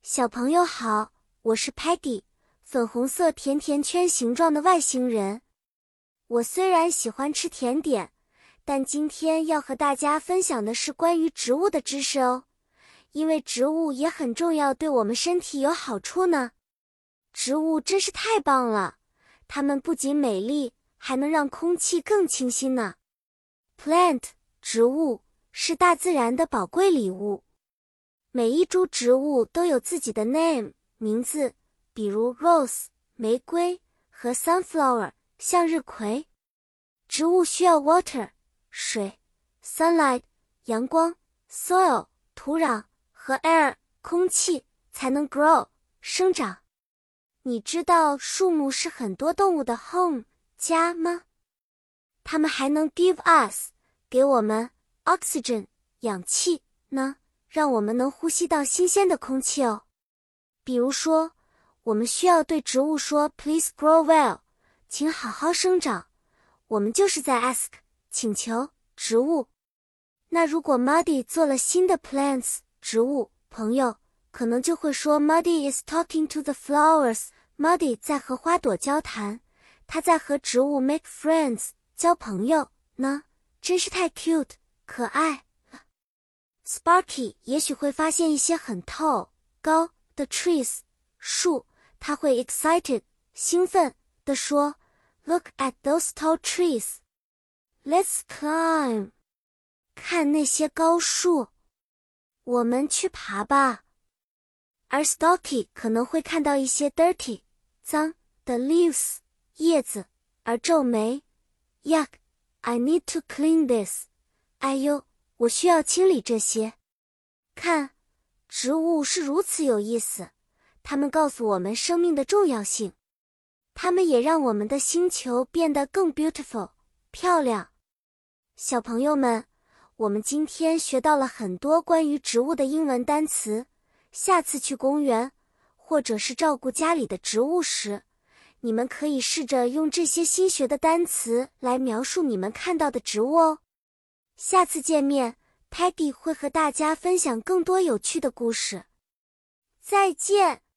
小朋友好，我是 Peggy， 粉红色甜甜圈形状的外星人。我虽然喜欢吃甜点，但今天要和大家分享的是关于植物的知识哦，因为植物也很重要，对我们身体有好处呢。植物真是太棒了，它们不仅美丽，还能让空气更清新呢。Plant 植物是大自然的宝贵礼物。每一株植物都有自己的 name 名字，比如 rose 玫瑰和 sunflower 向日葵。植物需要 water 水 sunlight 阳光 soil 土壤和 air 空气才能 grow 生长。你知道树木是很多动物的 home 家吗？它们还能 give us 给我们 oxygen 氧气呢，让我们能呼吸到新鲜的空气哦。比如说，我们需要对植物说 Please grow well， 请好好生长。我们就是在 ask 请求植物。那如果 Muddy 做了新的 plants 植物朋友，可能就会说 Muddy is talking to the flowers， Muddy 在和花朵交谈，他在和植物 make friends 交朋友呢，真是太 cute 可爱。Sparky 也许会发现一些很高的 trees 树，他会 excited 兴奋地说 Look at those tall trees. Let's climb. 看那些高树，我们去爬吧。而 Stalky 可能会看到一些 dirty 脏的 leaves 叶子，而皱眉 Yuck, I need to clean this. 哎呦，我需要清理这些。看，植物是如此有意思，它们告诉我们生命的重要性。它们也让我们的星球变得更 beautiful 漂亮。小朋友们，我们今天学到了很多关于植物的英文单词，下次去公园或者是照顾家里的植物时，你们可以试着用这些新学的单词来描述你们看到的植物哦。下次见面， Peggy 会和大家分享更多有趣的故事。再见。